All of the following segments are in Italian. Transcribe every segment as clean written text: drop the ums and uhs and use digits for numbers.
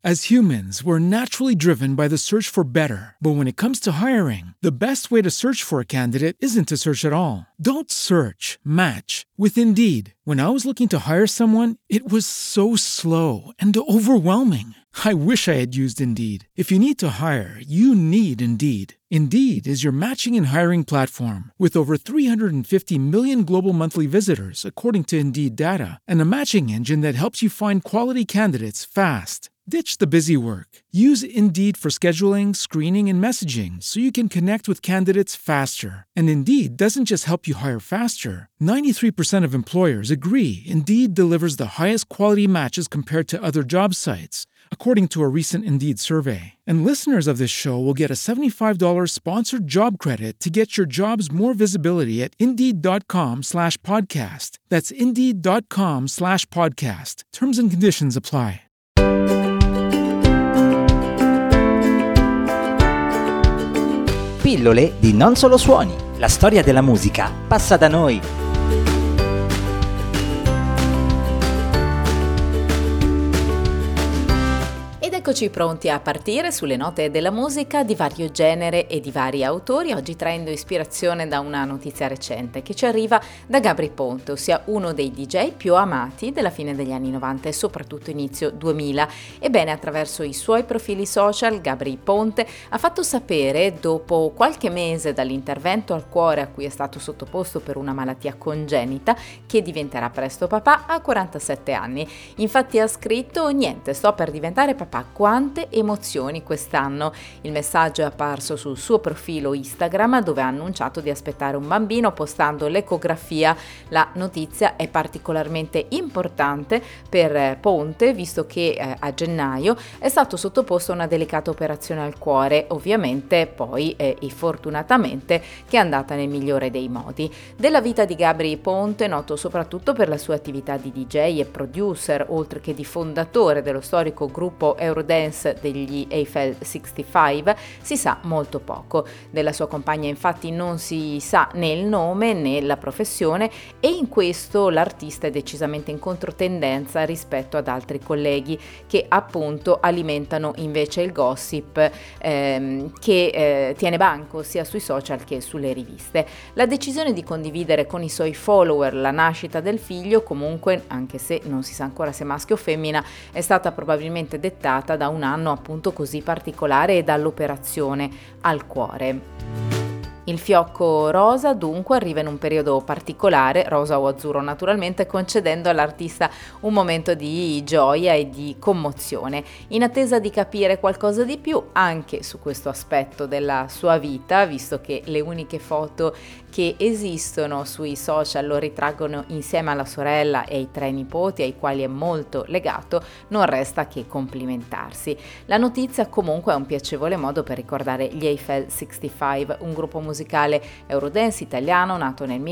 As humans, we're naturally driven by the search for better. But when it comes to hiring, the best way to search for a candidate isn't to search at all. Don't search, match with Indeed. When I was looking to hire someone, it was so slow and overwhelming. I wish I had used Indeed. If you need to hire, you need Indeed. Indeed is your matching and hiring platform with over 350 million global monthly visitors, according to Indeed data, and a matching engine that helps you find quality candidates fast. Ditch the busy work. Use Indeed for scheduling, screening, and messaging so you can connect with candidates faster. And Indeed doesn't just help you hire faster. 93% of employers agree Indeed delivers the highest quality matches compared to other job sites, according to a recent Indeed survey. And listeners of this show will get a $75 sponsored job credit to get your jobs more visibility at Indeed.com/podcast. That's Indeed.com/podcast. Terms and conditions apply. Pillole di Non Solo Suoni. La storia della musica passa da noi. Eccoci pronti a partire sulle note della musica di vario genere e di vari autori, oggi traendo ispirazione da una notizia recente che ci arriva da Gabry Ponte, ossia uno dei DJ più amati della fine degli anni 90 e soprattutto inizio 2000. Ebbene, attraverso i suoi profili social, Gabry Ponte ha fatto sapere, dopo qualche mese dall'intervento al cuore a cui è stato sottoposto per una malattia congenita, che diventerà presto papà a 47 anni. Infatti ha scritto: niente, sto per diventare papà. Quante emozioni quest'anno! Il messaggio è apparso sul suo profilo Instagram, dove ha annunciato di aspettare un bambino postando l'ecografia. La notizia è particolarmente importante per Ponte, visto che a gennaio è stato sottoposto a una delicata operazione al cuore, ovviamente poi e fortunatamente che è andata nel migliore dei modi. Della vita di Gabry Ponte, noto soprattutto per la sua attività di DJ e producer, oltre che di fondatore dello storico gruppo Eurodance degli Eiffel 65, si sa molto poco. Della sua compagna infatti non si sa né il nome né la professione, e in questo l'artista è decisamente in controtendenza rispetto ad altri colleghi che appunto alimentano invece il gossip che tiene banco sia sui social che sulle riviste. La decisione di condividere con i suoi follower la nascita del figlio, comunque, anche se non si sa ancora se maschio o femmina, è stata probabilmente dettata da un anno appunto così particolare e dall'operazione al cuore. Il fiocco rosa dunque arriva in un periodo particolare, rosa o azzurro naturalmente, concedendo all'artista un momento di gioia e di commozione. In attesa di capire qualcosa di più anche su questo aspetto della sua vita, visto che le uniche foto che esistono sui social lo ritraggono insieme alla sorella e ai 3 nipoti ai quali è molto legato, non resta che complimentarsi. La notizia comunque è un piacevole modo per ricordare gli Eiffel 65, un gruppo musicale Eurodance italiano nato nel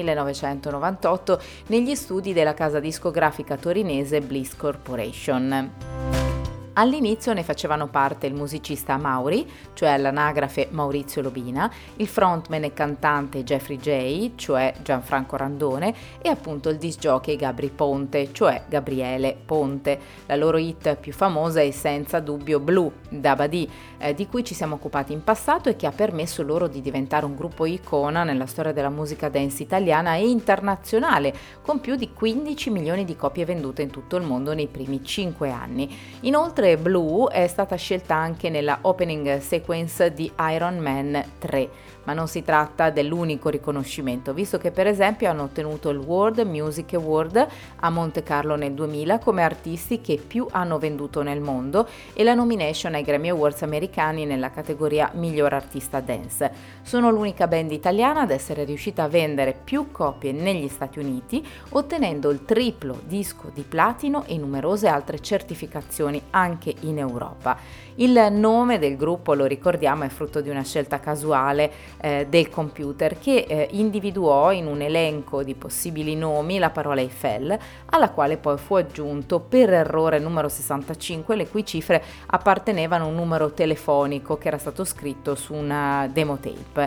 1998 negli studi della casa discografica torinese Bliss Corporation. All'inizio ne facevano parte il musicista Mauri, cioè all'anagrafe Maurizio Lobina, il frontman e cantante Jeffrey J, cioè Gianfranco Randone, e appunto il disc jockey Gabry Ponte, cioè Gabriele Ponte. La loro hit più famosa è senza dubbio Blue, Dabadì, di cui ci siamo occupati in passato e che ha permesso loro di diventare un gruppo icona nella storia della musica dance italiana e internazionale, con più di 15 milioni di copie vendute in tutto il mondo nei primi 5 anni. Inoltre Blue è stata scelta anche nella opening sequence di Iron Man 3, ma non si tratta dell'unico riconoscimento, visto che per esempio hanno ottenuto il World Music Award a Monte Carlo nel 2000 come artisti che più hanno venduto nel mondo e la nomination ai Grammy Awards americani nella categoria Miglior Artista Dance. Sono l'unica band italiana ad essere riuscita a vendere più copie negli Stati Uniti, ottenendo il triplo disco di platino e numerose altre certificazioni anche in Europa. Il nome del gruppo, lo ricordiamo, è frutto di una scelta casuale del computer che individuò in un elenco di possibili nomi la parola Eiffel, alla quale poi fu aggiunto per errore numero 65, le cui cifre appartenevano a un numero telefonico che era stato scritto su una demo tape.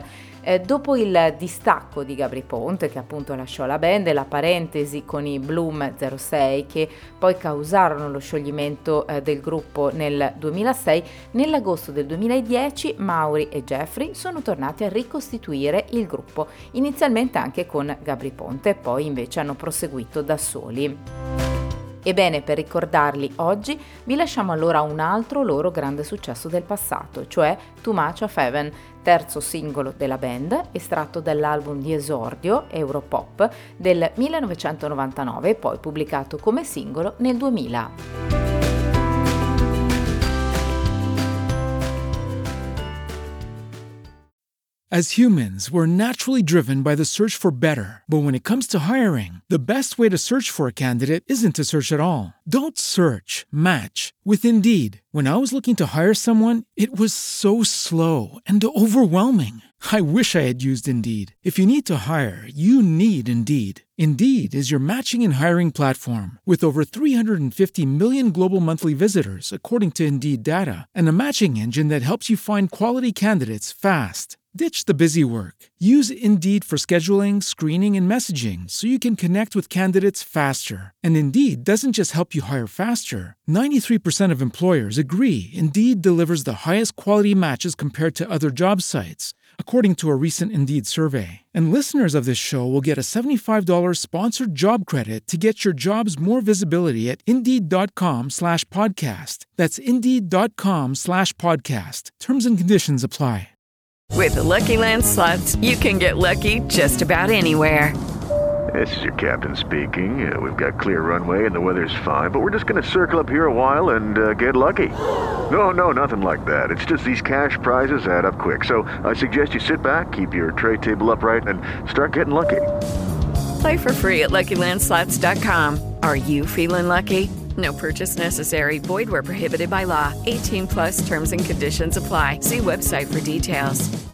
Dopo il distacco di Gabry Ponte, che appunto lasciò la band, e la parentesi con i Bloom 06 che poi causarono lo scioglimento del gruppo nel 2006, nell'agosto del 2010 Maury e Jeffrey sono tornati a ricostituire il gruppo, inizialmente anche con Gabry Ponte, poi invece hanno proseguito da soli. Ebbene, per ricordarli oggi vi lasciamo allora un altro loro grande successo del passato, cioè Too Much of Heaven, terzo singolo della band, estratto dall'album di esordio Europop del 1999 e poi pubblicato come singolo nel 2000. As humans, we're naturally driven by the search for better. But when it comes to hiring, the best way to search for a candidate isn't to search at all. Don't search, match with Indeed. When I was looking to hire someone, it was so slow and overwhelming. I wish I had used Indeed. If you need to hire, you need Indeed. Indeed is your matching and hiring platform with over 350 million global monthly visitors, according to Indeed data, and a matching engine that helps you find quality candidates fast. Ditch the busy work. Use Indeed for scheduling, screening, and messaging so you can connect with candidates faster. And Indeed doesn't just help you hire faster. 93% of employers agree Indeed delivers the highest quality matches compared to other job sites, according to a recent Indeed survey. And listeners of this show will get a $75 sponsored job credit to get your jobs more visibility at Indeed.com/podcast. That's Indeed.com/podcast. Terms and conditions apply. With the Lucky Land Slots, you can get lucky just about anywhere. This is your captain speaking. We've got clear runway and the weather's fine, but we're just going to circle up here a while and get lucky. No, nothing like that. It's just these cash prizes add up quick. So I suggest you sit back, keep your tray table upright, and start getting lucky. Play for free at LuckyLandSlots.com. Are you feeling lucky? No purchase necessary. Void where prohibited by law. 18+ terms and conditions apply. See website for details.